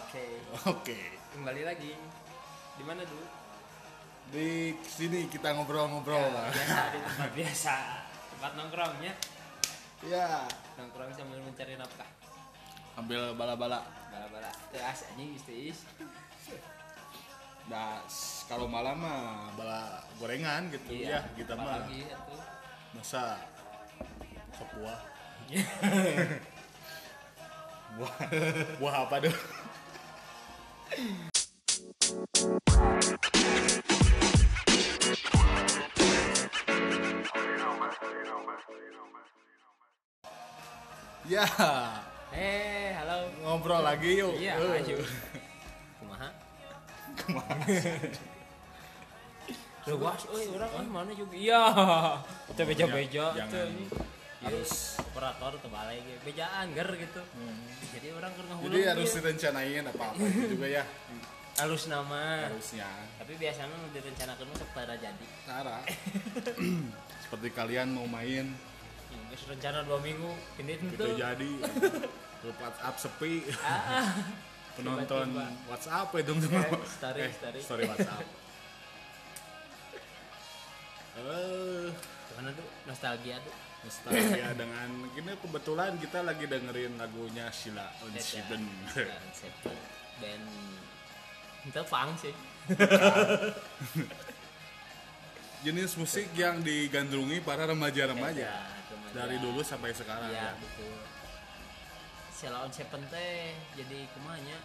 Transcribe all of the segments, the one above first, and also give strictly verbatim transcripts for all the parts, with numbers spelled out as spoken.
Oke. Oke. Kembali lagi. Di mana dulu? Di sini kita ngobrol-ngobrol Ya, lah. biasa di tempat biasa. Tempat nongkrongnya. Ya, Nongkrong sambil mencari nafkah. ambil bala-bala. Bala-bala. Teu as anjing geus. Nah, s- kalau malam mah bala gorengan gitu ya, kita mah. Lagi atuh. Masa sepuah. Buah, buah apa tuh? Ya, Eh, halo. ngobrol lagi yuk. Iya, Eh, ayo. Kumaha? Kumaha? Luas, euy, urang ah mana juga. Iya. Teu beja-beja Jangan. teu ini. Harus. Operator teu balik ge. Bejaan ger gitu. Jadi orang keur ngahulung. Jadi harus direncanain apa-apa itu juga ya. halus nama. Harusnya. Tapi biasanya nu direncanakeun mah sok tara jadi. Cara. Seperti kalian mau main Geus rencana dua minggu, ini gitu tuh. jadi. Grup WhatsApp sepi. Ah, Penonton tiba-tiba. WhatsApp ya dong. Eh, story, Eh, story. story WhatsApp. Eh, gimana tuh? Nostalgia tuh. nostalgia dengan ini kebetulan kita lagi dengerin lagunya Sheila on Seven. Seven. Band itu punk sih. Jenis musik yang digandrungi para remaja-remaja Ya, remaja. dari dulu sampai sekarang Iya, ya. betul. Sheila on Seven teh jadi kumanya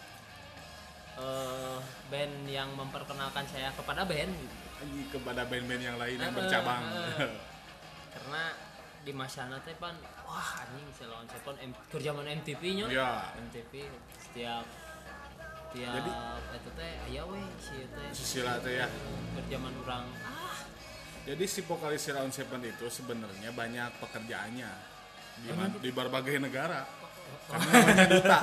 eh band yang memperkenalkan saya kepada band gitu. Ini kepada band-band yang lain yang Eh, bercabang. eh. Karena di masana teh pan wah anjing Sheila on Seven M- keur zaman M T V nya. Ya. M T V setiap tiap Jadi- eta teh aya we si teh. Si Sheila teh ya. Keur zaman urang ah Jadi si vokalis Sheila on Seven itu sebenarnya banyak pekerjaannya di, Oh, ma- gitu? di berbagai negara. Karena namanya duta.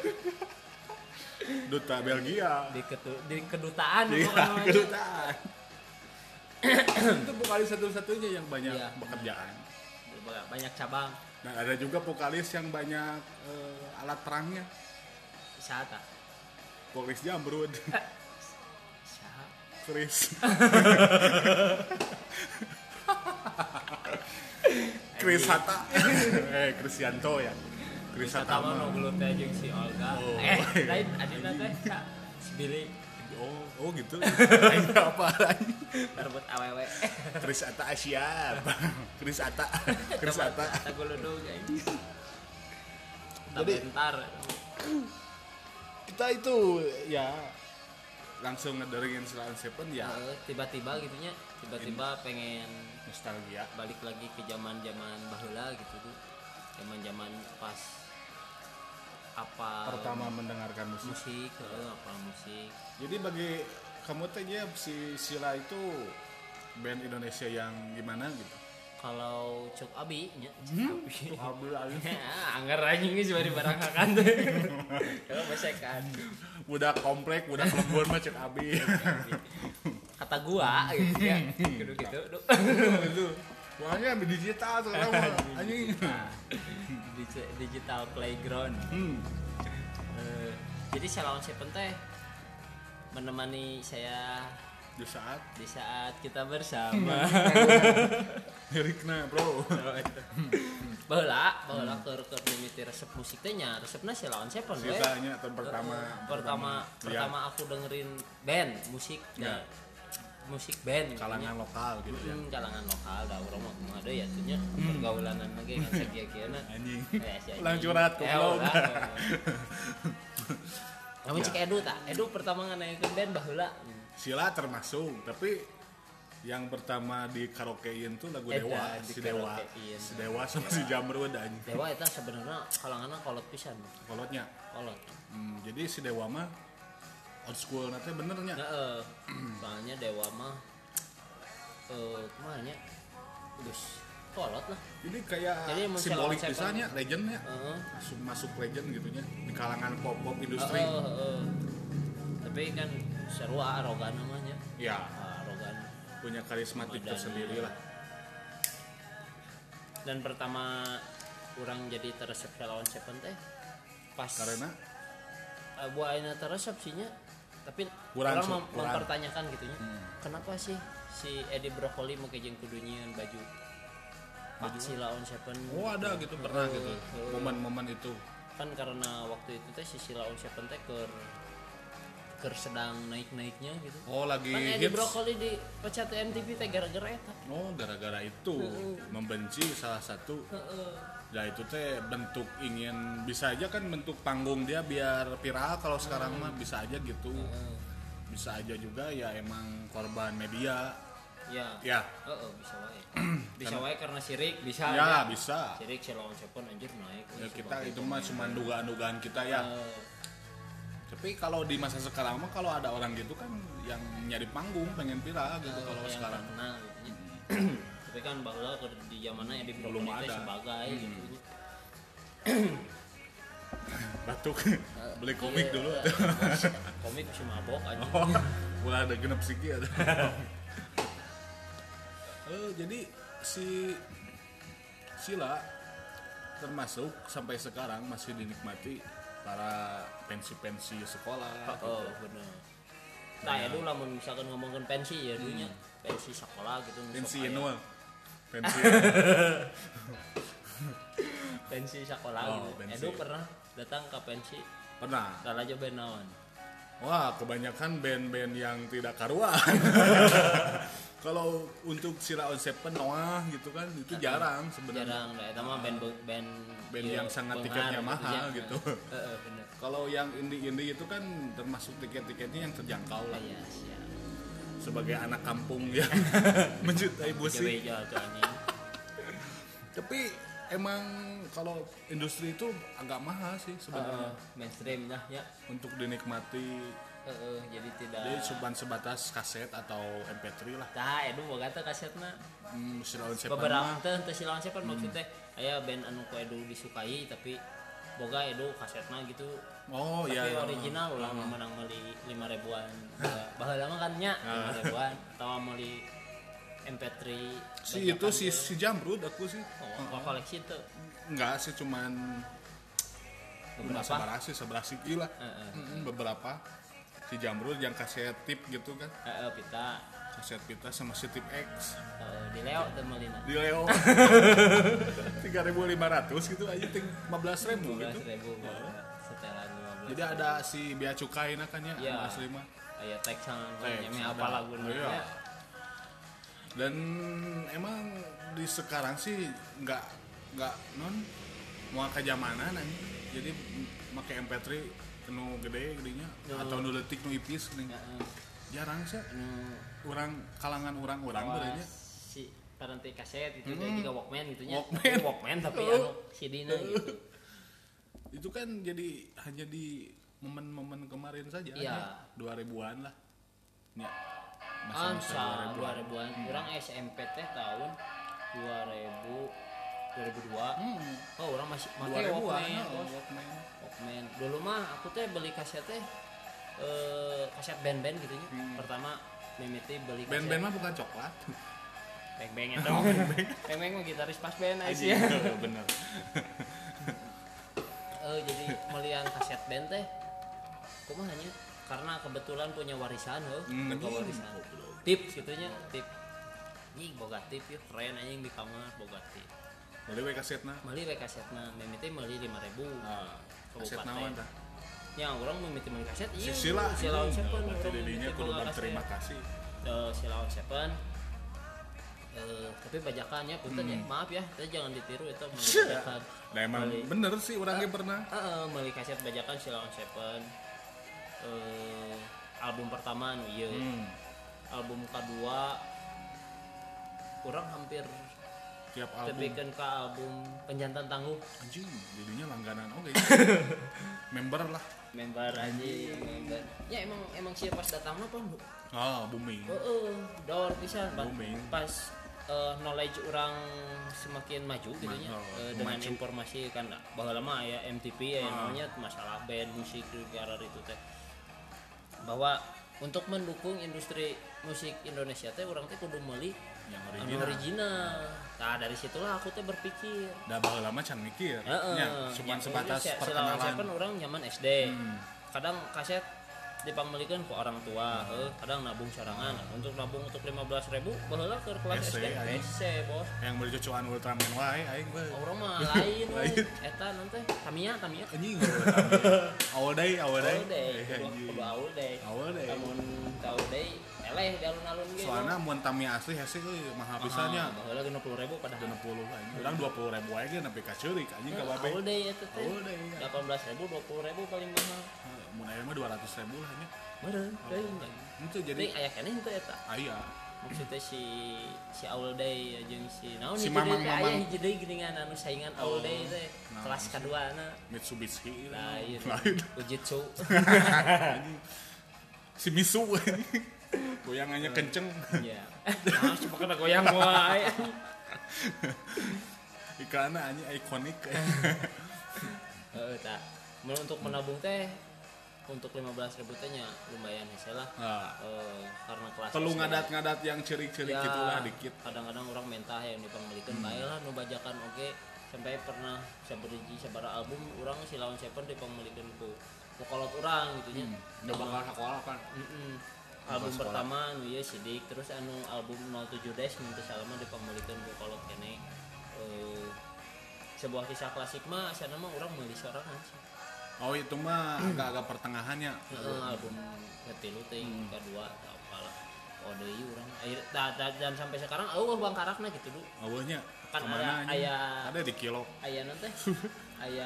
Duta Belgia. di ketu- di kedutaan Iya, bukan namanya. kedutaan. Itu vokalis satu-satunya yang banyak Iya. pekerjaan. Banyak cabang Dan ada juga vokalis yang banyak eh, alat perangnya. wisata. Vokalis Jamrud, Saha? Chris. Chris Hatta. eh, Krisyanto ya. Chris Wisata Hatta mah mah. nu gelut teh jeung si Olga. Oh. Eh, lain adina teh Sa. Si Billy Oh, oh gitu. Ini apa lagi? berebut awewe. Chris Hatta Asia. Chris Hatta. Chris Hatta. Kata guludug anjing. Jadi- bentar. Kita itu ya langsung ngedengerin Sheila on Seven ya Eh, tiba-tiba gitunya, tiba-tiba pengen nostalgia. balik lagi ke zaman-zaman baheula gitu tuh. Zaman-zaman pas apa Pertama mendengarkan musik. musik, heeh, apa musik. Jadi bagi kamu teh ya si Sheila itu band Indonesia yang gimana gitu? Kalau Cuk Abi nya, Hmm? Cuk Abi. Alhamdulillah. Anggar anjing geus bari barangkakan teh. Kalau besekan. Udah komplek, udah lembur mah cek abi. Kata gua gitu ya. Kudu gitu. Duh. Itu. Soalnya ambil digital sekarang mah anjing. Digi- Digital playground. Hmm. Eh, jadi Sheila on Seven teh menemani saya Di saat di saat kita bersama. liriknya, Bro. Baheula, baheula keur keur mimiti resep musik teh nya, resepna Sheila on Seven we. Ceritanya tahun pertama. pertama Ya, pertama aku dengerin band musik Ya. ya. Musik band kalangan lokal gitu ya. hmm, kalangan lokal da urang mah kumaha deui ya tuh nya pergaulanan lagi kan sakieu-kieuna Anjing. Eh, si anjing. Ulang curhat Eh, goblok. ulah. Namun Ya. cek Edu tak, Edu pertama nganaikeun band baheula. Sheila termasuk, tapi yang pertama di karaokein tuh lagu Eta, Dewa, di si Dewa, karaokein. si Dewa sama si Jamrud anjing. Dewa eta sebenarnya kalanganna kolot pisan. Kolotnya. Kolot. Hmm, jadi si Dewa mah old school nanti benernya. Heeh. Soalnya Dewa mah eh kumaha nya? Geus kolot lah. Jadi kayak Jadi mun simbolik Sheila on Seven- pisannya, legendnya. Heeh. Masuk masuk legend gitunya di kalangan pop pop industri. Heeh, heeh. Tapi kan seru arogan namanya. Ya, Arogan. punya karismatik Dan- tersendiri lah. Dan pertama orang jadi teresep Sheila on Seven teh pas Karena buah ayeuna teh resep sih nya. Tapi Kurang, orang so, mem- kurang. mempertanyakan gitu nya. Hmm. Kenapa sih si Edi Brokoli make jeung kudu nyieun baju Pak Silaon Seven? Oh ada gitu pernah gitu Heeh. momen-momen itu. Kan karena waktu itu teh si Silaon Seven teh keur keur sedang naik-naiknya gitu. Oh lagi Kan Edi hits. Brokoli di pecat M T V teh gara-gara eta. Oh gara-gara itu membenci salah satu. Heeh. Ya itu teh bentuk ingin bisa aja kan bentuk panggung dia biar viral kalau sekarang mah bisa aja gitu. Heeh. Bisa aja juga ya emang korban media. Ya. Ya. Heeh, bisa wae. Bisa wae karena sirik bisa Ya aja. bisa. Sirik Silaon Seven anjir naik. Ya Wih, kita sebagai itu mah pemain. cuma dugaan-dugaan kita ya. Eh, Tapi kalau di masa sekarang mah kalau ada orang gitu kan yang nyari panggung pengen viral gitu eh, kalau yang sekarang. terkenal gitu nya. Tapi kan baheula keur di zamanna Edi Belum Brokoli teh ada. sebagai Hmm. gitu nya. Batuk. Beli komik Iya, dulu. eh, komik si mabok aja. Oh, ulah ada genep siki ada. Eh jadi si Sila termasuk sampai sekarang masih dinikmati para pensi-pensi sekolah. Oh, bener. Nah, ya dulu lamun misalkan ngomongin pensi ya dulunya pensi sekolah gitu. Pensi sok aya. annual. Pensi. Pensi sekolah Oh, gitu. pensi. Edu pernah datang ke pensi Pernah. Dalajo band naon? Wah, kebanyakan band-band yang tidak karuan. Kalau untuk Silaon Seven Noah gitu kan itu jarang sebenarnya. Jarang, da eta mah band band Band ieu yang sangat beunghar tiketnya gitu mahal ya. gitu. Heeh, bener. Kalau yang indie-indie itu kan termasuk tiket-tiketnya yang terjangkau lah. Iya, siap. Sebagai anak kampung yang mencintai musik. Beja tuh anjing. Tapi emang kalau industri itu agak mahal sih sebenarnya Heeh, mainstream dah ya. untuk dinikmati. Heeh, jadi tidak. Jadi cuma sebatas kaset atau M P tiga lah. Tah, edu boga teh kasetna. Hmm, Silaon Seven Beberapa mah teh teh Silaon Seven maksudnya aya band anu ku edu disukai tapi boga edu kasetna gitu. oh Tapi iya, iya. original ulah menang meuli lima ribuan. Baheula mah kan nya lima ribuan atau meuli M P tiga. Si itu si si Jamrud aku sih. Oh, uh koleksi itu Enggak sih cuman beberapa. seberapa sih seberapa sih lah. Heeh. Mm-mm, beberapa si Jamrud yang kaset tip gitu kan. Heeh, pita. Kaset pita sama si tip X Heeh, di Leo teh meulina. di Leo tiga ribu lima ratus gitu aja ting lima belas ribu lima gitu. belas ribu setelan lima belas. Jadi ada si bea cukai nah kan ya Iya. anu asli mah. Aya teks sama Teks, nyame ada. apa laguna. Iya. Ya. Dan emang di sekarang sih nggak nggak non mau ke zamanan aja. Jadi pakai M P tiga nu gede gedenya Nu- atau nu leutik nu ipis geuning. Heeh. Jarang sih Anu orang kalangan orang-orang bawa berenya. si paranti kaset gitu Hmm. juga Walkman gitu nya. Walkman. Tapi Walkman tapi anu C D-na gitu. Itu kan jadi hanya di momen-momen kemarin saja Iya. ya, dua ribuan lah. Ya. Masa dua ribuan. Urang S M P teh tahun dua ribu dua ribu dua. Hmm. Oh, orang masih dua make ribuan. Walkman. Oh, bos. Walkman. Walkman. Dulu mah aku teh beli kaset teh eh kaset band-band gitu nya. Hmm. Pertama mimiti beli kaset Band-band mah bukan coklat. beng-beng itu. Beng-beng mah gitaris pas band aja sih. Bener. Eh jadi melihat kaset band teh kumaha nya karena kebetulan punya warisan heuh, Hmm, boga warisan. Tips gitu nya, tip. Nying boga tip yeuh keren anjing di kamar boga tip. Boleh we kasetna. Meuli we kasetna, mimiti meuli lima ribu. Ah, kaset Kabupaten. naon tah? Ya orang mimiti meuli kaset Si ieu. Sila, Silaon Seven. berarti urang didinya mimiti kudu boga berterima kaset. kasih. Eh, Silaon Seven. Eh, tapi bajakannya punten Hmm. ya, maaf ya, kita jangan ditiru itu meuli Sia. bajakan. Nah emang Meuli- bener sih orangnya pernah. Heeh, meuli kaset bajakan Silaon Seven. Eh, album pertama nu ieu. Hmm. Album kedua kurang hampir Tiap album. tebikeun ke album Penjantan Tangguh. Anjing, jadinya langganan oke. Member lah. Member anjing, member. Ya emang emang sih pas datang mah pun. Ah, booming. Heeh, daur pisan Pak. Booming. Pas eh, knowledge orang semakin maju gitu nya Ma- oh, eh, dengan maju. informasi kan bahwa lama ya M T V ya Ah. namanya masalah band musik di negara itu teh bahwa untuk mendukung industri musik Indonesia teh orang teh kudu meuli Yang anu original. original. Nah dari situlah aku teh berpikir. Dah baheula lama can mikir. Heeh. Ya, cuman Ya, sebatas si- si Silaon perkenalan. Seven orang nyaman S D. Hmm. kadang kaset dipamilikeun ku orang tua, heuh, kadang nabung sorangan. Untuk nabung untuk lima belas ribu baheula keur kelas S D, S D, anjing. S C, Bos. Yang beli cucuan Ultraman wae aing we. Orang mah lain we. Lain. Eta nanti Tamiya, Tamiya. Anjing. Awal day, awal day. Awal day, Eh, kudu anjing. kudu awal day. Awal day. Lamun tau day, eleh di alun-alun ge. Soalnya mun Tamiya asli hese euy mahal pisannya. Baheula enam puluh ribu padahal. enam puluh anjing. Urang dua puluh ribu aja nepi ka ceurik anjing ka babe. Awal day eta teh. Awal day. delapan belas ribu, dua puluh ribu paling mahal. Mun aya mah dua ratus ribu lah nya. Meureun teuing. Itu Jadi jadi aya keneh henteu eta. aya. Maksudnya si si Awal Day jeung si naon Si hiji Mamang- deui teh aya Mamang. hiji deui geuningan anu saingan Awal Day teh Nah, kelas si- kaduana. Mitsubishi. Lain. Lain. Ujitsu. Anjing. Si Misu anjing. Goyangannya kenceng. Iya. Nah, coba kena goyang wae. Iklanna anjing ikonik. Heeh, tah. Mun untuk menabung teh untuk lima belas ribu teh nya lumayan hese lah. Nah, Eh, karena kelas perlu S D. ngadat-ngadat yang cerik-cerik Ya, gitulah dikit. kadang-kadang orang mentah yang dipangmelikeun Hmm. bae lah nu bajakan oge sampai pernah saberiji sabara album urang si Lawan Seven dipangmelikeun ku ku kolot urang gitu nya. Udah bakal sekolah kan. Heeh. Bakal Album sekolah. pertama nu ieu Sidik, terus anu album nol tujuh Dash minta salama dipangmelikeun ku kolot keneh. Eh, sebuah kisah klasik mah asana mah urang meuli sorangan sih. Oh itu mah agak-agak pertengahannya. Heeh, album ketilu teh Hmm. kedua atau apalah. Oh deui urang. Akhir da, da, dan sampai sekarang eueuh bangkarakna gitu du. Awalnya Kan kemana ada- anjing? aya- Ada di kilo. Aya nanti aya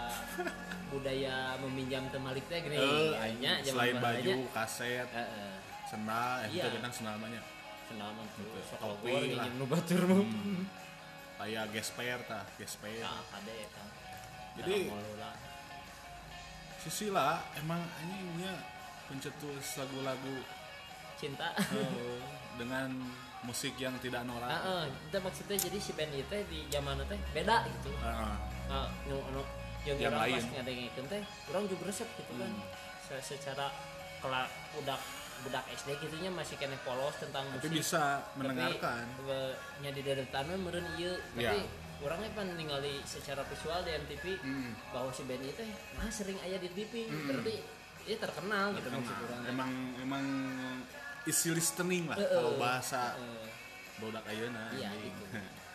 budaya meminjam temalik teh gini Eh, nya selain baju, kaset, heeh sendal, eh, Iya. itu benang sendal namanya. senam tuh Gitu. sok Topi logor lah. nginjem nu batur mah Hmm. Kayak gesper tah, gesper. nah kade eta Jadi- lah Sisila emang anjingnya pencetus lagu-lagu cinta eh, dengan musik yang tidak norak. heeh itu maksudnya jadi si band ieu teh di zaman teh beda gitu Heeh. nah nu nu jeung Yang urang lain. pas ngadengikeun teh urang juga resep gitu kan Hmm. Se- secara kelak budak budak S D gitunya masih kena polos tentang Tapi musik bisa mendengarkan. tapi eh, nya di deretan mah meureun ieu Ya. tapi urangnya pan ningali secara visual di M T V Hmm. bahwa si band itu teh nah sering aya di T V Hmm. berarti dia terkenal gitu Emang, maksud urang emang emang isi listening lah Heeh. kalau bahasa Heeh. bodak ayeuna. Iya, anjing. gitu.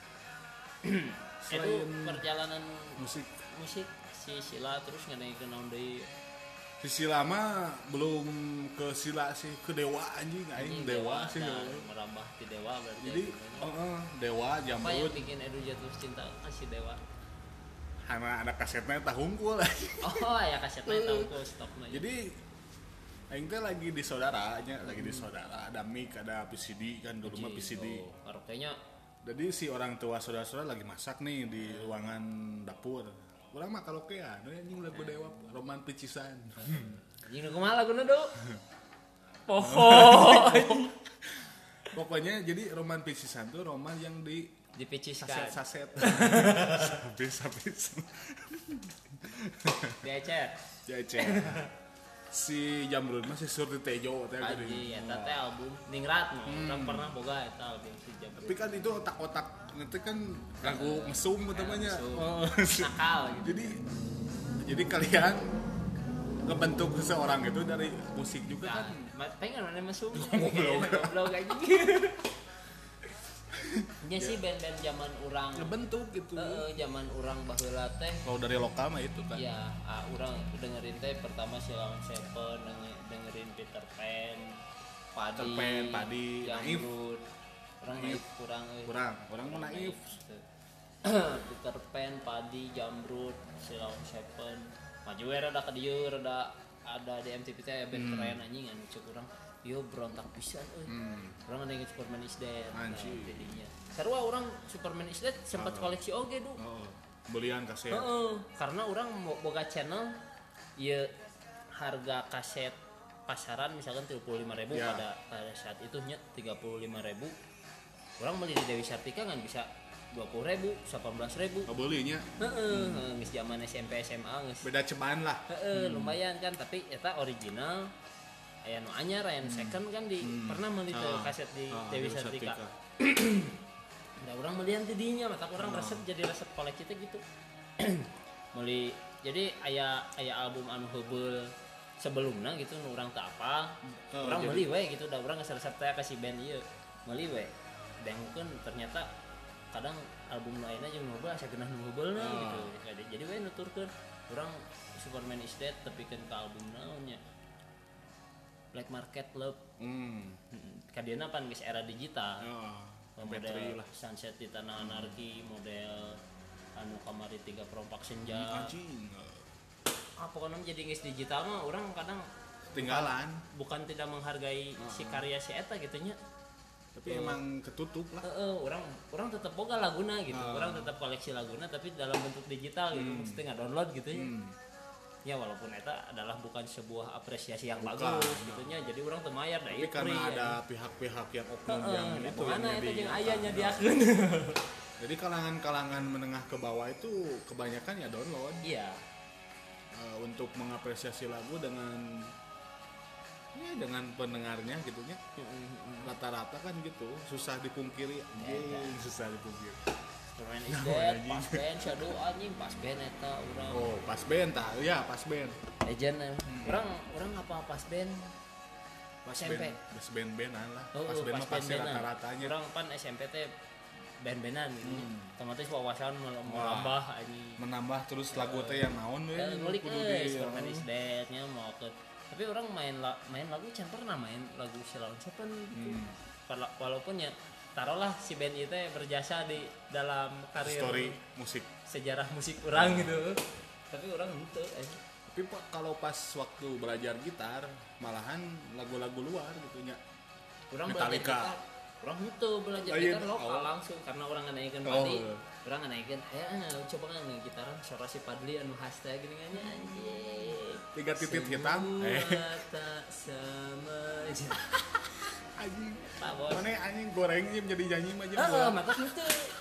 itu Selain perjalanan musik, musik si Sila terus ngadengikeun naon deui sisi lama belum ke sila sih, ke dewa anjing aing dewa, sih. nah, merambah di dewa berarti Jadi ya, heeh, dewa apa yang jamrut bikin Edu jatuh cinta ah, si dewa karena ada kasetnya tah hungkul. oh ya kasetnya tahu kok stoknya Jadi aing teh lagi di saudara nya, lagi di saudara, ada mic, ada P C D kan dulu mah P C D. oh, karaoke-nya Jadi si orang tua saudara-saudara lagi masak nih di ruangan dapur. Urang mah karaokean, anjing lagu dewa roman picisan. anjing nu kumaha laguna do poho Pokoknya jadi roman picisan tuh roman yang di dipiciskan saset-saset. Habis-habis. diacer Ya cek. Si Jamrud mah si Surti Tejo teh geuning. aji eta teh album Ningrat mah urang pernah boga eta album si Jam Tapi kan itu otak-otak ngerti kan lagu mesum utamanya. mesum. Oh, nakal gitu jadi jadi kalian ngebentuk seseorang itu dari musik juga nah, kan. ma- pengen mana mesum Goblok. goblok anjing nya sih band-band zaman urang Ngebentuk gitu. heeh zaman urang baheula teh Kalau dari lokal mah itu kan. ya ah, urang dengerin teh pertama si Lawan Seven denger- dengerin Peter Pan Padi Peter Pan, Padi, Naif. Jamrud urang Naif. naif kurang euy. Kurang, orang mau naif. Peter Pan, Padi, Jamrud, si Lawan Seven maju we rada ka dieu rada ada di M T V teh band keren anjing anu cek urang ieu berontak pisan euy. Hmm. Urang ngadengin Superman is Dead. Anjing. Nah, jadinya. Sarua urang Superman is Dead sempat koleksi oge du. Oh, belian kaset. Heeh, karena urang mo- boga channel ieu harga kaset pasaran misalkan tiga puluh lima ribu Ya. pada pada saat itu nya tiga puluh lima ribu. Urang beli di Dewi Sartika kan bisa dua puluh ribu, delapan belas ribu. Oh, belinya Heeh, hmm. geus zaman S M P S M A geus. beda cobaan lah. Heeh, lumayan kan tapi eta original aya nu anyar aya nu second kan di Hmm. pernah meuli teh Ah. kaset di Ah, Dewi Dewi Sartika. Sartika. Da urang melian ti dinya mata urang Ah. resep jadi resep koleksi teh gitu. Meuli jadi aya aya album anu heubeul sebelumnya gitu nu urang teu apal Oh, urang jadi- meuli we gitu da urang geus resep teh ka si band ieu meuli we dengkeun ternyata kadang album lainnya jeung heubeul asa geunah nu heubeulna Oh. gitu jadi jadi we nuturkeun urang Superman is Dead tepikeun ka album naonnya Black Market Love Hmm. kadiana pan geus era digital Oh, M P tiga model lah. Sunset di Tanah Anarki model anu kamari tiga perompak senja Anjing. ah pokoknya jadi geus digital mah orang kadang Tinggalan. bukan tidak menghargai si karya si eta gitunya Tapi emang ketutup lah. heeh orang orang tetap boga laguna gitu Ah. orang tetap koleksi laguna tapi dalam bentuk digital gitu Hmm. mesti nggak download gitu ya Hmm. ya walaupun eta adalah bukan sebuah apresiasi yang Bukan, bagus nah. gitunya jadi orang temayar da Tapi ieu karena free, ada ya. pihak-pihak yang oknum Heeh, yang da itu yang mana eta jadi jeung apa. ayahnya diakeun Jadi kalangan-kalangan menengah ke bawah itu kebanyakan ya download. iya Uh, untuk mengapresiasi lagu dengan ya dengan pendengarnya gitunya rata-rata kan gitu susah dipungkiri anjing susah dipungkiri. Superman is Nah, Dead, anjing. pas band, shadow anjing, pas band eta urang Oh pas band tah ya pas band legend eh. Urang urang apa pas band pas S M P. band pas band bandan lah Oh, pas oh, band mah pasti band-bandan. rata-ratanya Urang pan S M P teh band-bandan gitu. Hmm. Otomatis wawasan Wah. melambah anjing. menambah terus lagu teh yang naon we Eh, ngulik kudu euy di- Superman is Dead nya mau ke tapi orang main la, main lagu can pernah main lagu Sheila on Seven gitu. Hmm. Wala- Walaupun ya taruhlah si band itu berjasa di dalam karir story musik. sejarah musik orang gitu. Tapi orang henteu eh. Tapi Pak, kalau pas waktu belajar gitar malahan lagu-lagu luar gitu nya. Orang Metallica. belajar gitar orang itu belajar Lain. gitar lokal Oh. langsung karena orang ngenaikeun Oh. padi orang ngenaikeun eh coba kan nge gitaran suara si Padli anu khas teh gini kan anjing Tiga titik Semua hitam. Eh. tak sama aja Anjing. Pak bos Mana anjing goreng sih menjadi nyanyi mah jeung heeh gua. mata itu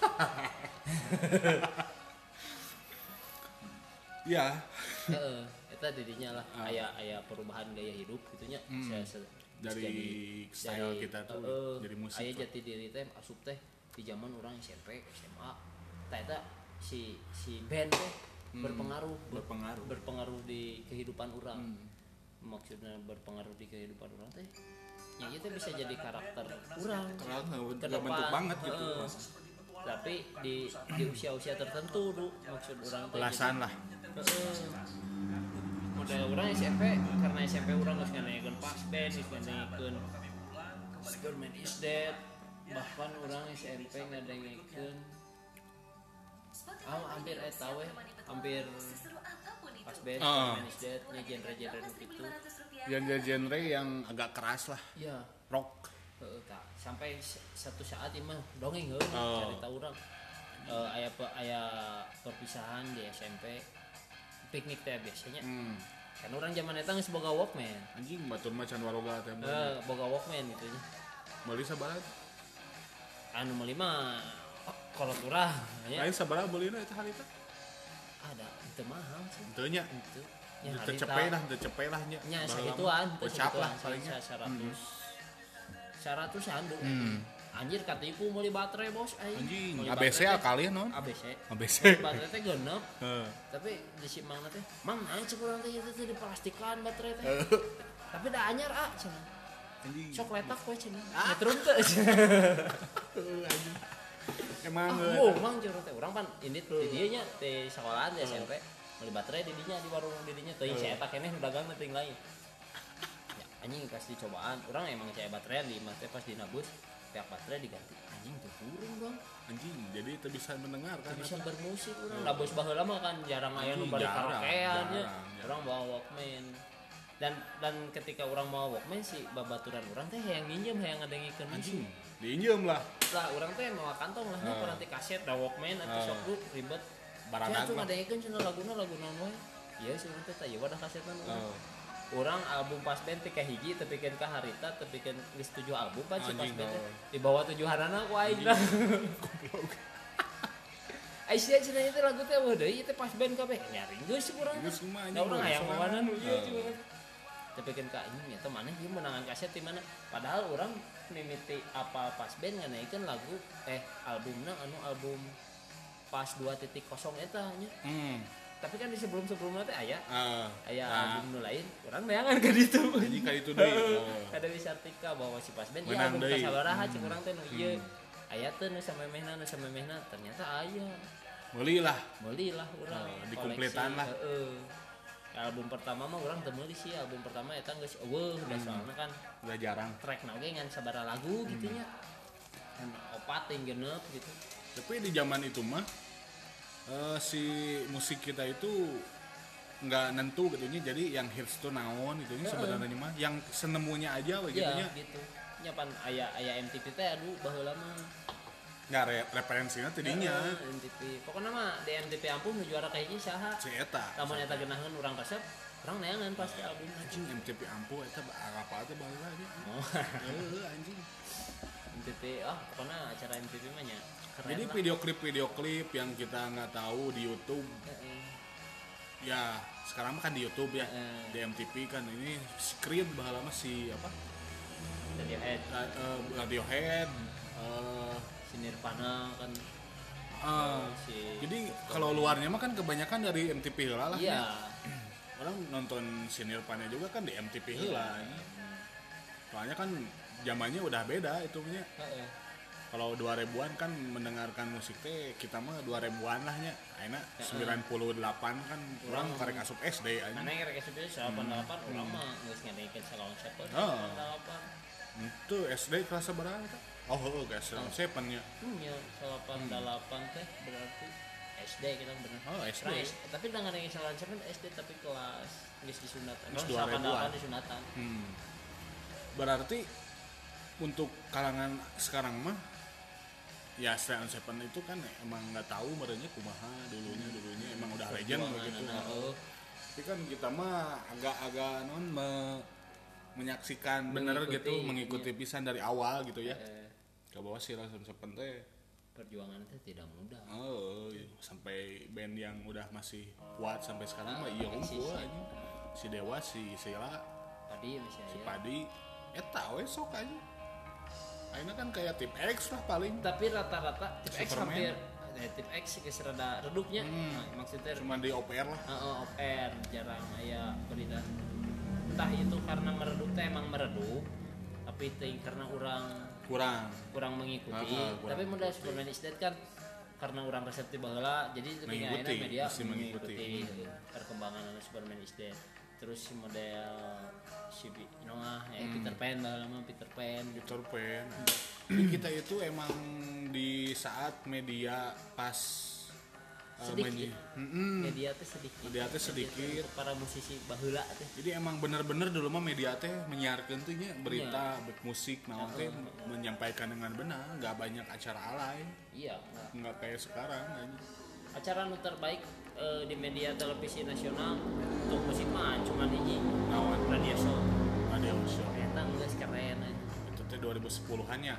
Iya. heeh eta didinya lah Ah. aya aya perubahan gaya hidup gitunya Hmm. Saya- saya- Dari jadi style dari, kita tuh uh, jadi musik aya lah. jati diri teh asup teh di zaman orang S M P S M A tah eta si si band teh Hmm, berpengaruh ber- berpengaruh. berpengaruh di kehidupan orang Hmm. maksudnya berpengaruh di kehidupan orang teh ya itu bisa jadi karakter orang Karena ke nggak bentuk depan banget gitu. heeh. Tapi di di usia-usia tertentu du maksud orang teh Belasan lah. Heeh. Model orang S M P karena S M P orang geus nganeikeun pas band geus nganeikeun Superman is Dead bahkan orang S M P ngadengekeun ah hampir eta we hampir pas band Ah. Superman is Dead nya genre-genre nu kitu Genre-genre yang agak keras lah, ya rock. heeh tah sampai s- satu saat ieu mah dongeng heuh Oh. carita urang eh aya pe, aya perpisahan di S M P piknik teh biasanya Hmm. kan orang zaman eta geus boga Walkman Anjing batur mah can waroga teh. eh boga Walkman gitu nya Beli sabaraha? anu meuli mah oh, kolot urang nya Lain sabaraha beulina eta harita? ada itu mahal sih Teu nya. itu Teu cepet lah, teu cepet lah nya. nya Baheula sagituan mah teu gocap lah sagituan, palingnya. sa- seratus seratusan du Hmm. anjir katipu meuli baterai bos aing Anjing, Meuli A B C baterai teh- kali non? A B C A B C. Meuli baterai teh genep Heeh. tapi di si mang teh mang aing cek urang teh ieu teh diplastikan baterai teh tapi da anyar ah cenah Anjing. sok letak we cenah ngetrum teh Emang ah oh mang curang teh urang pan ini di dieu nya di sekolahan di S M P meuli baterai di dinya di warung di dinya teuing si eta keneh nu dagang teh lain ya anjing pas dicobaan urang emang saya baterai di mah teh pas dinabus pihak baterai diganti anjing teu kurang dong anjing, jadi itu bisa mendengar kan? teu bisa bermusik urang nabus baheula mah kan jarang aya nu Anjing, bari jarang, karaokean nya jarang, urang bawa Walkman dan dan ketika orang mau Walkman si babaturan urang teh hayang nginjem hayang ngadengikeun musik Anjing, diinjem lah. lah orang teh mau kantong lah Ah. nanti kaset da Walkman atau Ah. sok du ribet Baradag ya cuma mah. ngadengikeun cenah laguna lagu naon wae ieu sih urang teh tah ieu wadah kasetan urang Oh. urang album pas band teh kahiji teu pikeun ka harita teu pikeun geus tujuh album pan si pas Anjing, band teh. oh. Di bawah tujuhanana ku aing dah Aisyah cenah ieu teh lagu teh wah deui teh pas band kabeh nyaring geus urang Geus kumaha, da urang anjing, hayang soalna. mawanan ieu Oh. cuma teu pikeun ka anjing eta maneh ieu menangan kaset di mana padahal urang mimiti apa pas band nganaikeun lagu eh albumna anu album pas dua titik nol eta nya Hmm. tapi kan di sebelum-sebelumnya teh aya Ah, aya nah. album nu lain urang neangan ka ditu Anjing ka ditu deui. Oh. kada bisa artika bahwa si pas band ya Menang album deui. kasabaraha cek Hmm. urang teh nu ieu aya teh nu samemehna nu samemehna ternyata aya Meuli lah. meuli lah urang Oh, dikumpletan lah. heeh album pertama mah urang teu meuli sih album pertama eta geus eueuh da soalna kan Udah jarang. track na oge ngan sabaraha lagu gitu nya kan opat yang genep gitu Tapi di zaman itu mah eh, si musik kita itu nggak nentu gitu nya. Jadi yang hits tuh naon gitu nya sebenarnya mah yang senemunya aja we gitu iya nya. gitu nya pan aya aya M T V teh aduh baheula mah Nggak re- referensinya tadinya Heeh, M T V pokokna mah di M T V ampun nu juara ka hiji saha si eta. lamun eta geunaheun urang resep urang neangan pasti album Anjing M T V ampu eta apa aja baheula aja. oh Heeh anjing. M T V ah pokokna acara M T V mah nya keren Jadi lah. video klip-video klip yang kita nggak tahu di YouTube Heeh. ya sekarang mah kan di YouTube ya. Heeh. Di M T V kan ini screen baheula mah si apa? Radiohead Ra- eh, Radiohead eh si Nirvana kan eh, si jadi kalau luarnya mah kan kebanyakan dari M T V heula lah. iya Orang nonton Sinirpannya juga kan di M T V Iya. heula. Soalnya kan zamannya udah beda itu punya. Heeh. Kalau dua ribuan kan mendengarkan musik teh kita mah dua ribuan lah nya. Ayeuna sembilan puluh delapan kan orang karek asup S D aja. Mana yang rek S D delapan puluh delapan urang mah geus ngadekeun salon siapa Oh. delapan puluh delapan Itu S D kelas seberapa eta? Oh, heuh guys, seven nya. nya delapan puluh delapan teh berarti S D kita bener. Oh, S D. Nah, S- tapi dengan yang salon siapa S D tapi kelas geus disunatan. Geus Terus dua delapan puluh delapan ribuan. disunatan. Hmm. Berarti untuk kalangan sekarang mah ya Stray on Seven itu kan emang nggak tahu merenya kumaha dulunya dulunya emang udah legend Perjuangan begitu. anak, oh. Tapi kan kita mah agak-agak non me- menyaksikan bener Mengikuti, gitu mengikuti pisan dari awal gitu ya. Eh, Ke bawah si Stray on Seven teh perjuangan itu tidak mudah. oh iya. Sampai band yang udah masih kuat sampai sekarang mah iya eksis, unggul ya. aja. Si Dewa, si Sheila, Tadi masih si aya. Padi eta we sok aja. Ayeuna kan kayak tip X lah paling. Tapi rata-rata tip X Superman. hampir eh, tip X geus rada redupnya. Hmm. Nah, maksudnya Cuma di O P R lah. Heeh, off air jarang aya berita. Entah itu karena meredup teh emang meredup, tapi teh karena orang Kurang. kurang mengikuti. Ah, ah, kurang tapi mudah Superman is Dead kan karena orang reseptif baheula, jadi ketika Mengikuti, akhirnya media mesti mengikuti. mengikuti perkembangan Superman is Dead. Terus si model si Bi- Noah, ya Hmm. Peter Pan baheula mah Peter Pan gitu. Peter Pan. Jadi kita itu emang di saat media pas uh, Sedikit. menyi- Mm-mm. Media teh sedikit. Media teh sedikit. Untuk para musisi baheula teh. Jadi emang bener-bener dulu mah media teh menyiarkeun teh nya berita, bet musik, naon teh menyampaikan dengan benar, nggak banyak acara alay, Iya, enggak. nggak kayak sekarang aja. Acara nu terbaik eh, di media televisi nasional untuk musik mah cuma hiji Naon radio show. radio show Eta geus keren aja. itu teh dua ribu sepuluhan ya.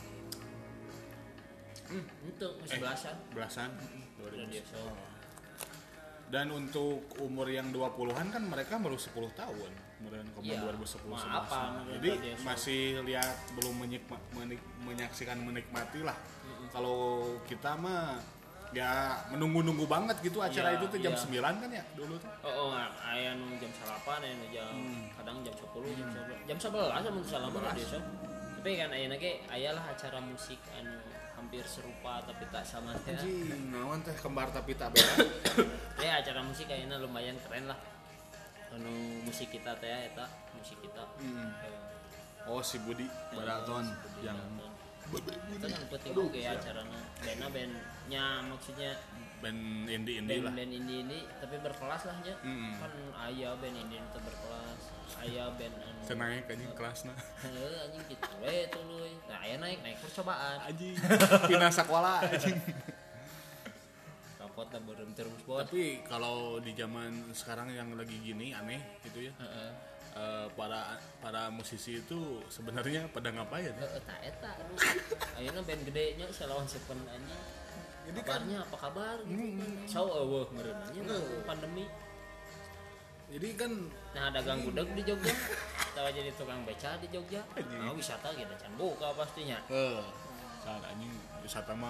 Hmm, itu masih Eh. belasan Belasan dua ribu radio show. Dan untuk umur yang dua puluhan kan mereka baru sepuluh tahun. Kemudian ke Iya, dua ribu sepuluh mah apa, menurut Jadi dia, so. masih lihat belum menyikma, menik- menyaksikan menikmati lah. Kalau kita mah ya menunggu-nunggu banget gitu acara Iya, itu tuh jam iya. sembilan kan ya dulu tuh. Oh, oh aya nu jam delapan, aya nu jam kadang jam sepuluh, jam sebelas. Jam sebelas mun salah mah radio show. Tapi kan ayeuna ge ayalah acara musik anu hampir serupa tapi tak sama teh. Anjing, naon teh kembar tapi tak beda. Ya acara musik kayaknya lumayan keren lah. Anu musik kita teh eta musik kita. Hmm. Eh, Oh si Budi Baraton Budi yang Baraton. Itu kan penting oke ya acaranya. Bandnya bandnya maksudnya band indie-indie lah. band-band indie ini tapi berkelas lah ya. Mm-mm. Kan aya band indie itu berkelas. Aya band anu. Senaik anjing kelasna. Heeh anjing gitu we tuluy. Nah, aya naik naik percobaan. Anjing. Pina sakola anjing. Rapot lah beureum terus bot. Tapi kalau di zaman sekarang yang lagi gini aneh gitu ya. Heeh. eh, para para musisi itu sebenarnya pada ngapain? Heeh ta eta aduh. Ayeuna band gedenya salawan Seven anjing. Jadi kan Kabarnya apa kabar gitu kan. So eueuh meureun anjing pandemi. jadi kan Nah ada gang gudeg di Jogja. Tawa jadi tukang beca di Jogja. Nah wisata gitu can buka pastinya. eh saat anjing wisata mah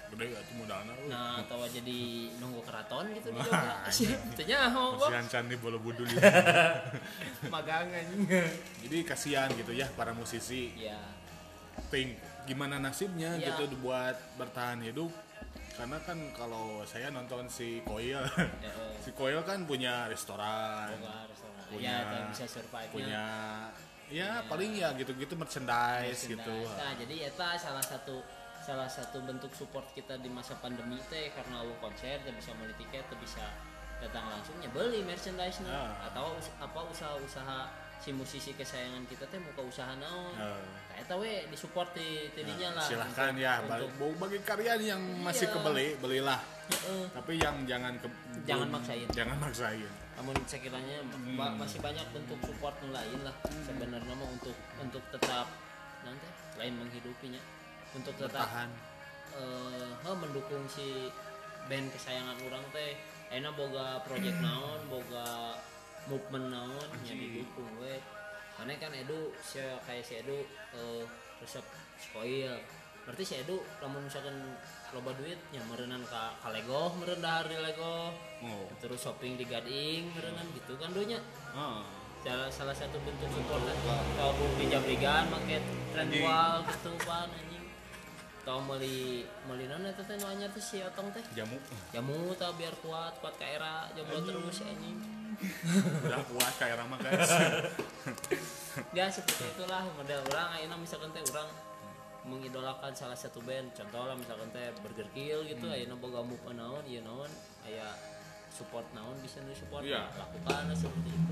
gede atuh modalna. Nah atau jadi nunggu keraton gitu di Jogja tentunya mau kasihan can di Borobudur ya. magang anjing. Jadi kasihan gitu ya para musisi. Ya Think gimana nasibnya ya. gitu buat bertahan hidup. Karena kan kalau saya nonton si Koil, Ya, eh. si Koil kan punya restoran, Boga restoran. punya Ya atau bisa survive-nya. punya ya paling ya gitu-gitu merchandise, gitu. Nah, jadi eta salah satu salah satu bentuk support kita di masa pandemi teh karena lu konser teh bisa beli tiket teh bisa datang langsungnya beli merchandise-nya Ah. atau us- apa usaha-usaha si musisi kesayangan kita teh muka usaha naon. Ah. Nah, eta we disupport di tidinya lah. Silahkan untuk- ya untuk, bagi, bagi karya yang masih Iya. kebeli belilah, Heeh. tapi yang jangan ke, Jangan belum- maksain. jangan maksain. Namun sekiranya Hmm. ba- masih banyak bentuk support yang lain lah sebenarnya mah untuk untuk tetap nanti lain menghidupinya untuk tetap Bertahan. eh heh, mendukung si band kesayangan orang teh enak boga project naon boga movement naon nya didukung we karena kan Edu si kayak si Edu eh, resep spoil berarti si Edu lamun misalkan loba duit nya meureunan ka ka Lego meureun dahar di Lego Oh. terus shopping di Gading meureunnan gitu kan dunya Ah. salah salah satu bentuk support kalau pinjam ligan make trend Anjing. wall gitu pan anjing tau meuli meuli naon eta teh nu anyar teh si Otong teh Jamu. jamu tah biar kuat kuat ka era jomblo terus anjing Udah kuat kayak Rama guys. ya seperti itulah model orang ayeuna misalkan teh orang mengidolakan salah satu band contoh lah misalkan teh Burger Kill gitu ayeuna boga move naon ieu naon aya support naon bisa nu support Iya. lakukan seperti itu.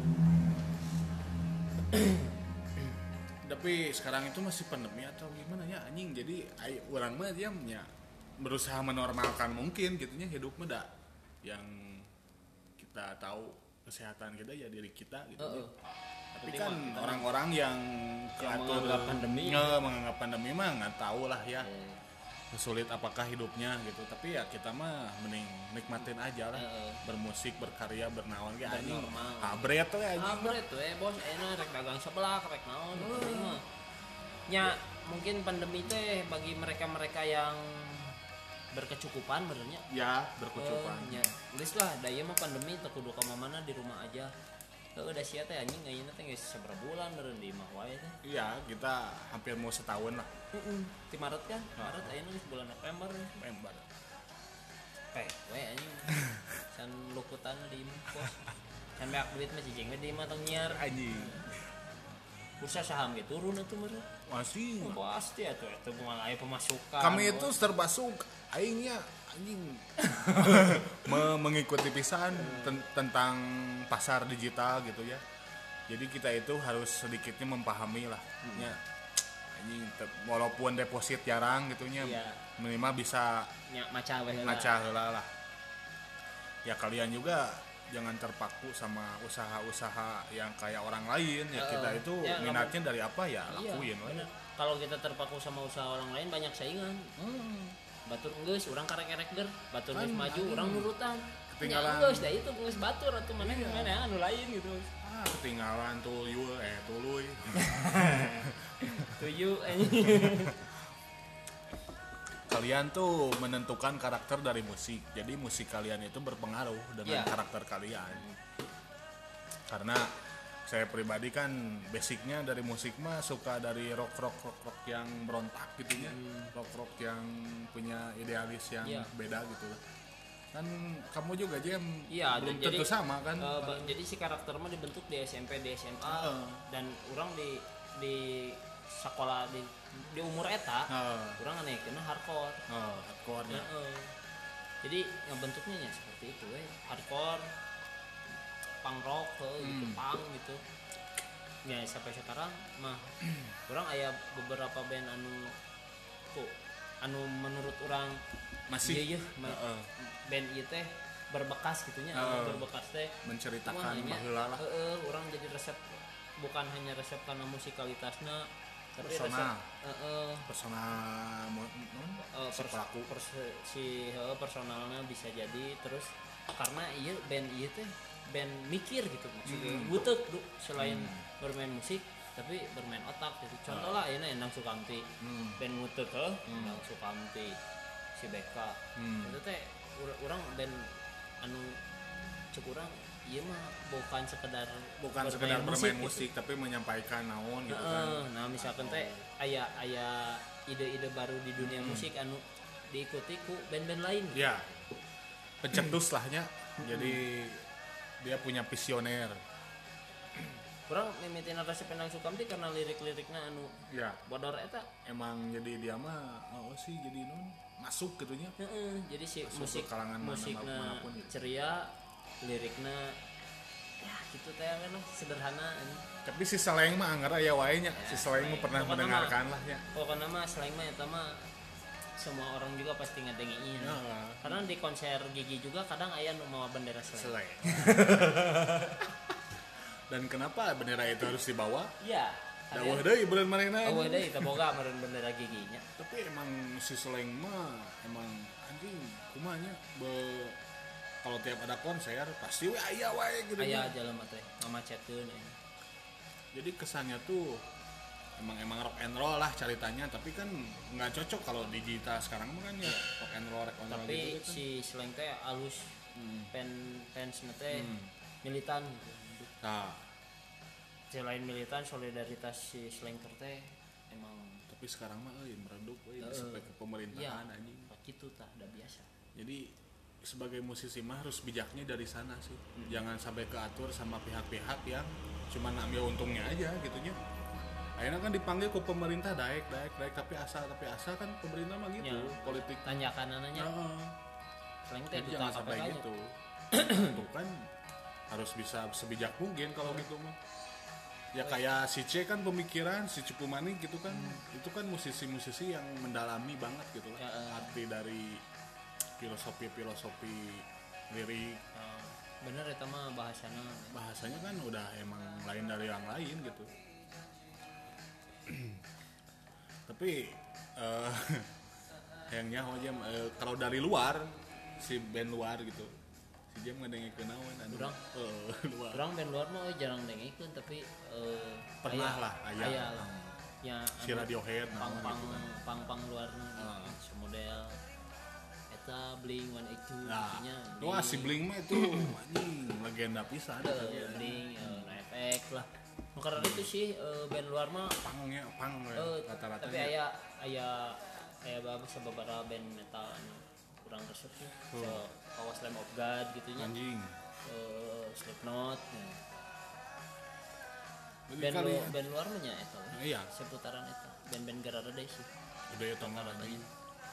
Tapi sekarang itu masih pandemi atau gimana ya anjing, jadi ay, orang mah dia ya, berusaha menormalkan mungkin gitunya hidup mah dah yang kita tahu kesehatan kita ya diri kita gitu. Heeh. Tapi Tapi kan mah kita- orang-orang yang Yang keatur- menganggap pandemi. nge- menganggap pandemi mah nggak tahu lah ya Eh, sulit apakah hidupnya gitu. Tapi ya kita mah mending nikmatin aja lah, Heeh. bermusik, berkarya, bernaon kayak anjing. Bernormal. Habret tuh ya Ah, anjing. bener tuh eh bos, enak rek dagang sebelah, rek naon, penting mah. Nya mungkin pandemi teh bagi mereka-mereka yang berkecukupan benernya. Ya berkecukupan. Eh, nya geus lah, da ieu mah pandemi teu kudu ka mana di rumah aja. Heuh da sia teh anjing ayeuna teh geus sabaraha bulan meureun di imah wae teh. Iya, kita hampir mau setahun lah. Heeh. Di Maret kan? Maret ayeuna geus bulan November. Member. Peh, we anjing. Can lukutan di imah bos. Can beak duit mah cicing we di imah tong nyiar. Anjing. Bursa saham ge turun atuh meureun. Masih. Pasti atuh eta moal aya pemasukan. Kami itu serba suk aingnya anjing. Me- mengikuti pisan ten- tentang pasar digital gitu ya. Jadi kita itu harus sedikitnya memahami lah. Ya. Anjing te- walaupun deposit jarang gitunya Iya. minimal bisa nya maca we heula. ngaca heula lah. Ya kalian juga jangan terpaku sama usaha-usaha yang kayak orang lain ya. Heeh. Kita itu Ya, nggak minatnya dari apa ya Iya, lakuin we. bener. Kalau kita terpaku sama usaha orang lain banyak saingan. Hmm. Batur geus urang karek-karek ger, batur geus Kan, maju anjing. urang nurutan. Ketinggalan. Nya geus da itu geus batur atuh mana Iya. mana anu lain gitu. Ah, ketinggalan tuh yul eh tuluy. Tujuh anjing. Kalian tuh menentukan karakter dari musik. Jadi musik kalian itu berpengaruh dengan Iya. karakter kalian. Karena saya pribadi kan basicnya dari musik mah suka dari rock rock rock rock yang berontak gitu ya. Rock rock yang punya idealis yang Iya. beda gitu lah. Kan kamu juga Jem Iya, belum jadi- tentu sama kan. Eh, ba- jadi si karakter mah dibentuk di S M P, di S M A Heeh. dan orang di di sekolah di di umur eta Heeh. orang nganekeun hardcore. Oh, hardcore nya. Heeh. Jadi yang bentuknya ya seperti itu we, hardcore, punk rock, heuh, gitu, Hmm. punk gitu. Ya sampai sekarang mah orang aya beberapa band anu tuh anu menurut orang Masih iya, iya, ma- Heeh. band ieu teh berbekas gitunya, Heeh. anu berbekas teh menceritakan Wah, nya, baheula lah. heeh, orang jadi resep bukan hanya resep karena musikalitasnya tapi Personal. resep heeh, Persona mo- non? eh, si pers- pelaku. pers- si heeh, personalnya bisa jadi terus karena iya band iya teh band mikir gitu maksudnya Hmm. butek du, selain Hmm. bermain musik tapi bermain otak gitu contoh lah ini Endang Sukamti Hmm. band ngutek eh Endang Sukamti si Beka Hmm. itu teh orang band anu cek urang ieu mah bukan sekedar bukan sekedar bermain musik, gitu. tapi menyampaikan naon gitu Heeh, kan. nah misalkan teh aya aya ide-ide baru di dunia Hmm. musik anu diikuti ku band-band lain. Ya, pencetus lahnya. Jadi dia punya visioner. Kurang mimitin Rasa Penang Sukamti karena lirik-liriknya anu Ya, bodor eta. emang jadi dia mah oh sih jadi non masuk gitunya. Heeh, jadi si Masuk musik ke kalangan mana- musiknya manapun gitu. ceria, liriknya ya gitu teh kan lah, sederhana ini. Tapi si Seleng mah anggar aya wae nya. Si Seleng mah pernah Pokokna mendengarkan mah- lah ya. Pokoknya mah selain mah eta mah semua orang juga pasti ngedengerin. Ya, Karena di konser Gigi juga kadang aya nu mawa bendera Slang. Seleng. Dan kenapa bendera itu harus dibawa? Iya. Dawah deui beuneu marena. Oh, deui teu boga meureun bendera Giginya. Tapi emang si Seleng mah emang anjing kumanya be kalau tiap ada konser pasti we aya wae gitu. Aya jelema teh ngamacetkeun aya. Jadi kesannya tuh emang emang rock and roll lah ceritanya, tapi kan nggak cocok kalau digital sekarang mah kan ya rock and roll rock and roll Tapi gitu kan. si Slang teh alus Hmm. pen fans teh Hmm. militan. Nah, Selain militan solidaritas si Slanker teh emang tapi sekarang mah euy meredup euy Heeh. sampai ke pemerintahan iya, anjing. gitu tah udah biasa. Jadi sebagai musisi mah harus bijaknya dari sana sih. Jangan sampai keatur sama pihak-pihak yang cuma ngambil untungnya aja gitunya. Akhirnya kan dipanggil ke pemerintah daek daek daek tapi asal tapi asal kan pemerintah mah gitu Ya. politik. Tanyakan ananya Heeh. Slang teh Jadi duta jangan K P sampai K nya. gitu. Itu kan harus bisa sebijak mungkin kalau gitu mah. Ya kayak si C kan pemikiran, si Cupu Manik gitu kan. Itu kan musisi-musisi yang mendalami banget gitu lah. Ya, eh. Arti dari filosofi-filosofi lirik. Nah, bener eta mah bahasana. Bahasanya kan udah emang lain dari yang lain gitu. Tapi eh yang nyaho aja eh, kalau dari luar si band luar gitu si jam ngadengikeun naon anu Urang? eh, luar Orang band luar mah euy jarang dengekeun tapi eh, Pernah aya- lah, aya. aya lah. Ya si Radiohead naon pang-pang gitu kan. pang-pang luarna Ah. gitu. Semodel eta Blink one eighty-two Nah, nya. wah si Blink mah itu anjing legenda pisan Blink, Blink, eh, No Effect lah. Nu karena itu sih eh, band luar mah pangnya pang we, eh, rata-rata tapi aya aya aya bagus beberapa band metal anu kurang resep sih. Oh. So, Kawas Lamb of God gitu nya. anjing Eh, Slipknot. Ya. Jadi Band kali lu, ya. band luar mah nya eta. we. Iya. Seputaran eta. Band-band Garada deh sih. udah ya tong Rata-ratanya. anjing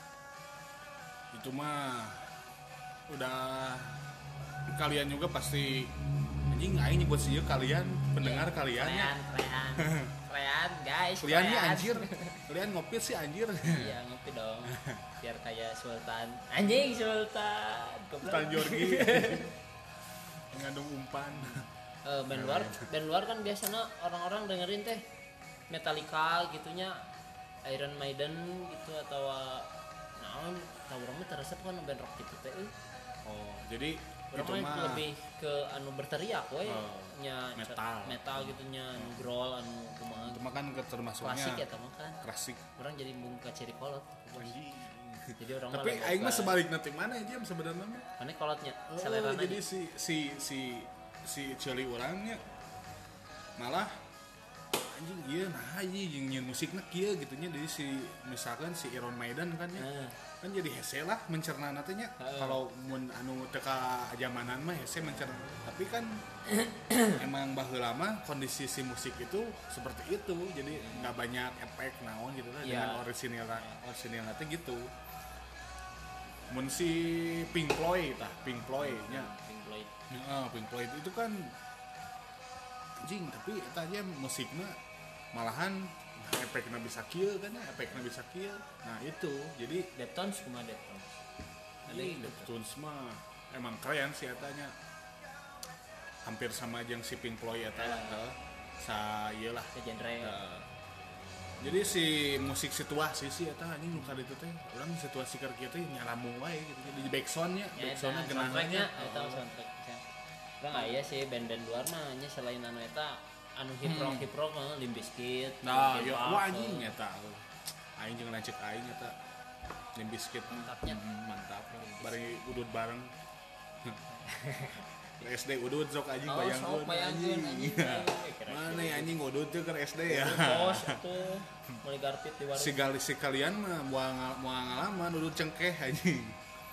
itu mah udah kalian juga pasti anjing aing nyebut sih kalian pendengar Ya, kalian ya Krean, krean. Krean, guys. kalian nih krean. anjir kalian ngopi sih anjir Iya, ngopi dong. Biar kayak Sultan. Anjing Sultan. Goblok. Sultan Jorgi mengandung umpan Eh, band luar, band luar kan biasanya orang-orang dengerin teh Metallica gitunya, Iron Maiden gitu atau naon, tahu orang mah terasa kan band rock gitu teh. euy. oh jadi Orang itu mah mah lebih ke anu berteriak we, Oh, nya metal. metal gitunya, anu growl anu kumaha. itu mah kan ke- termasuknya Klasik ya mah kan. klasik Orang jadi muka ciri kolot. anjing Jadi orang tapi mah aing mah boga. sebaliknya tim mana aja sebenarnya mah Mana kolotnya? oh, Selerana jadi aja. si si si si celi orangnya malah anjing iya nah anjing jeung nyeun musikna kieu gitu nya jadi si misalkan si Iron Maiden kan ya Nah, kan jadi hese lah mencerna nantinya Heeh. kalau mun anu teka zamanan mah hese mencerna tapi kan emang baheula mah kondisi si musik itu seperti itu jadi nggak banyak efek naon gitu lah Iya. dengan orisinil orisinil nanti gitu mun si Pink Floyd tah Pink Floyd nya Pink Floyd. Heeh, Pink Floyd itu kan anjing tapi eta aja musiknya malahan efeknya bisa kieu kan ya efeknya bisa kieu nah itu jadi Deftones kumaha Deftones? Ada ini gitu. Deftones mah emang keren sih etanya hampir sama jeung si Pink Floyd eta lah Ya. sa ieu lah Ke genre. Heeh. jadi si musik situasi sih eta anjing nu kaditu teh urang situasi keur kieu teh nyaramu wae gitu jadi backsoundnya Ya, backsoundnya eta genahnya soundtracknya, eta soundtracknya. Orang aya sih band-band luar mah nya selain anu eta anu hip rock hip rock mah Limp Bizkit. nah Linkin yo Park, wah anjing eh. eta aing jeung lanceuk aing eta Limp Bizkit Mantapnya. Hmm, mantap bari udut bareng S D udut sok anjing Oh, bayangkeun sok bayangkeun anjing. mana ya anjing udut teh ke S D ya Bos itu mulai garpit di warung. si gali si kalian mah moal moal ngalaman udut cengkeh anjing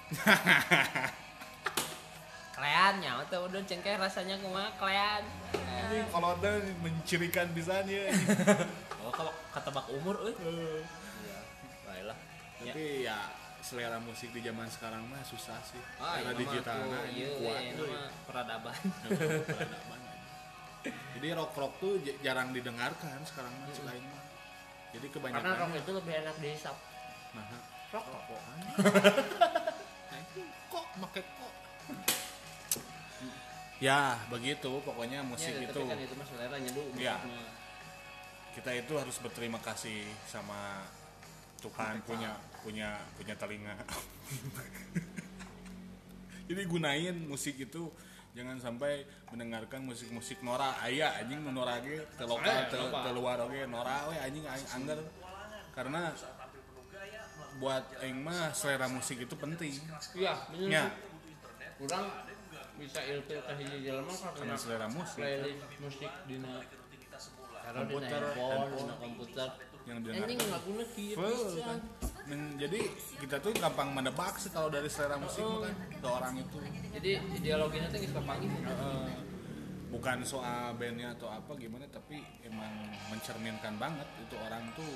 Klean nya teh udah cengkeh rasanya kumaha klean. anjing kalau ada mencirikan pisan ya Oh, kalau ketebak umur euy. Iya, baiklah. Ya. tapi ya selera musik di zaman sekarang mah susah sih Ah, era iya, digital mah nah tuh, ini iya, kuat iya, euy. nama peradaban. Peradaban. Jadi rock rock tuh j- jarang didengarkan sekarang mah hmm. lain mah. Jadi kebanyakan Karena rock itu lebih enak dihisap. nah Rock kok kok make kok ya begitu pokoknya musik ya, itu tapi kan itu mah selera nyeduh ya. musiknya. Kita itu harus berterima kasih sama Tuhan punya punya punya telinga. Jadi gunain musik itu jangan sampai mendengarkan musik-musik Nora aya anjing nu Nora ge teu lokal teu teu luar oge Nora we anjing aing angger karena buat aing mah selera musik itu penting. Iya, bener. Ya. Kurang bisa ilfil ke hiji jelema karena selera musik playlist musik dina komputer, dina handphone, handphone. dina komputer. yang Anjing dengarkan. laguna kieu Full, pisan. kan. Men- jadi kita tuh gampang menebak sih kalau dari selera musik mah kan ke orang itu. Jadi ideologinya tuh geus kepanggih. Uh, bukan soal bandnya atau apa gimana tapi emang mencerminkan banget itu orang tuh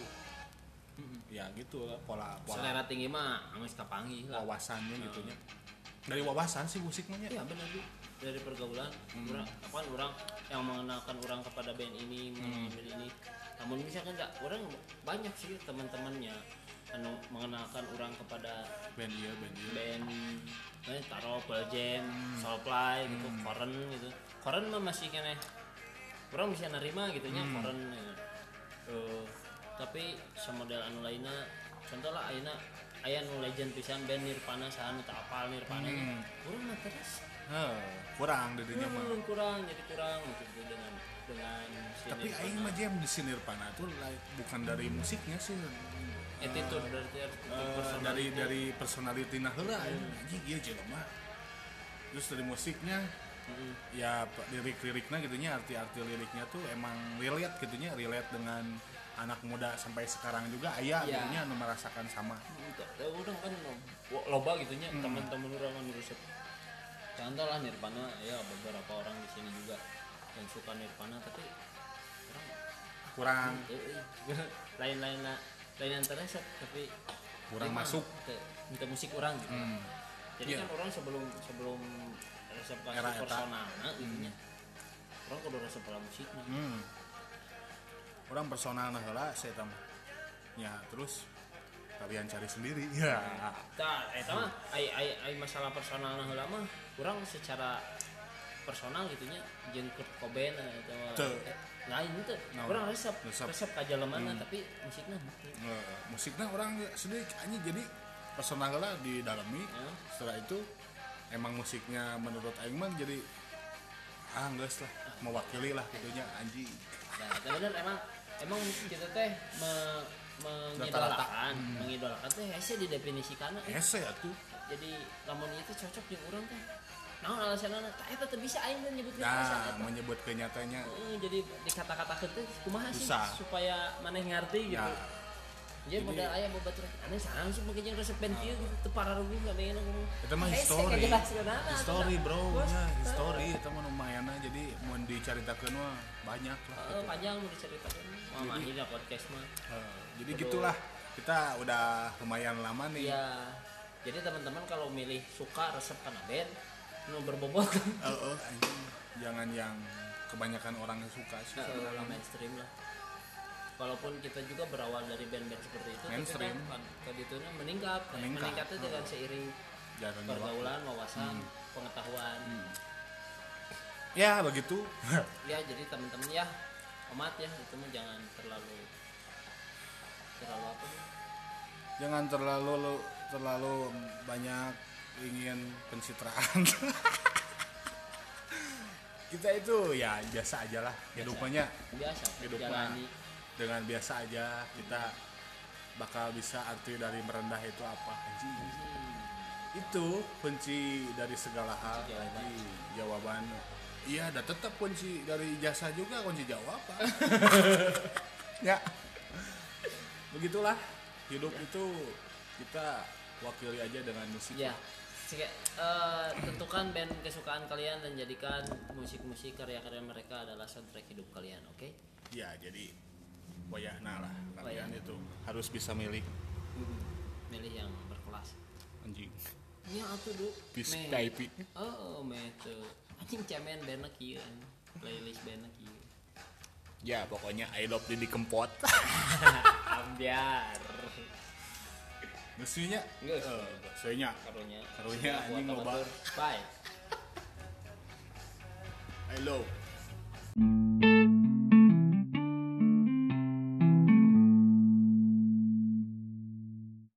ya gitu lah pola pola Selera tinggi mah geus kepanggih lah. wawasannya gitunya dari wawasan sih musiknya Iya benar Bu. Dari pergaulan Hmm. orang apa orang yang mengenalkan orang kepada band ini, mengenalkan band ini. Namun misalkan enggak orang banyak sih teman-temannya anu mengenalkan orang kepada band iya band iya band eh taruh Pearl Jam, Soulfly gitu, Korn gitu. Korn mah masih kene orang bisa nerima gitu nya Korn ya. Eh, tapi semodel anu lainnya contoh lah ayeuna aya nu legend pisan band Nirvana saha nu teu apal Nirvana Hmm. urang mah terus Heh, kurang dirinya mah hmm, kurang jadi kurang gitu dengan dengan si tapi Nirvana. aing mah jam di si Nirvana tuh like, bukan dari musiknya sih attitude berarti Eh, personality. dari dari personality nah heula anjing ieu jelema terus dari musiknya Mm-mm. ya p- lirik-liriknya gitunya arti-arti liriknya tuh emang relate gitunya relate dengan anak muda sampai sekarang juga aya Iya. gitunya anu merasakan sama Gitu. Ya udah kan lo- loba gitunya teman-teman orang anu resep. Contoh lah Nirvana ya beberapa orang di sini juga yang suka Nirvana tapi orang kurang eh, eh, lain-lain lah lain yang teresep tapi kurang emang masuk ke, ke musik orang gitu. hmm. Jadi Iya. kan orang sebelum sebelum resep ke Era eta. personal nah gitunya. Orang kudu resep ke musiknya. Hmm. orang personal nah heula saya tahu ya terus kalian cari sendiri ya Tah, eta mah ai ai ai masalah personal nah heula mah urang secara personal gitunya jeung Kurt Cobain eta mah Teu. eh, lain teh. No. Urang resep Resep. resep ka jalemana tapi musikna henteu. Eh, musiknya orang sedih anjing jadi personal lah didalami Heeh. setelah itu emang musiknya menurut aing mah jadi ah geus lah mewakili lah gitunya anjing Nah, eta bener emang emang kita teh me, mengidolakan, mengidolakan teh hese didefinisikan eh. ese atuh Jadi lamun ieu teh cocok jeung urang teh. Naon alasanna? Tah eta teh bisa aing teh nyebutkeun nah alasan eta. menyebut kenyataannya Heeh, jadi dikata-katakeun teh kumaha sih Susah. supaya maneh ngarti gitu. ya Jadi modal aya babaturan aneh sareng sih make jeung resep band kieu gitu teu pararugi ngadengna ngomong. itu mah Hese history kajelaskeunana, history atuh. bro Bos, nya teu. history itu mah lumayan jadi mau diceritakeun mah banyak lah Heeh, gitu. panjang mau diceritakeun. Mama akhirnya podcast mah. Eh, jadi Kudu- gitulah kita udah lumayan lama nih Iya. Jadi teman-teman kalau milih suka resep kana band nu berbobot Eh, eh, anjing. jangan yang kebanyakan orang yang suka sih Nah, sebenarnya. mainstream lah. Walaupun kita juga berawal dari band-band seperti itu, Mainstream. tapi kan keditunya meningkat, Meningkat. meningkatnya dengan seiring Jalan pergaulan, wawasan, pengetahuan. ya begitu Ya jadi teman-teman ya, amat ya itu mah jangan terlalu terlalu apa sih? jangan terlalu terlalu banyak ingin pencitraan kita itu ya biasa aja lah hidupannya Biasa, hidup jalani. dengan biasa aja kita bakal bisa arti dari merendah itu apa anjing. Hmm. Itu kunci dari segala hal Jawaban. anjing. Jawaban iya, dan tetap kunci dari ijazah juga kunci jawaban. Ya begitulah hidup itu, kita wakili aja dengan musik. Ya, Sike, eh, tentukan band kesukaan kalian dan jadikan musik-musik karya-karya mereka adalah soundtrack hidup kalian, oke? Ya jadi wayahna lah kalian Wayahna. itu harus bisa milih Milih yang berkelas. anjing. Nya atuh du. Bis Me- V I P. Oh, me tuh. Anjing cemen bandna kieu. Playlist bandna kieu. Ya pokoknya I love Didi Kempot. Ambiar. Mestinya Geus. eh saya Karunya. Karunya anjing Buat loba. batur. Bye. I love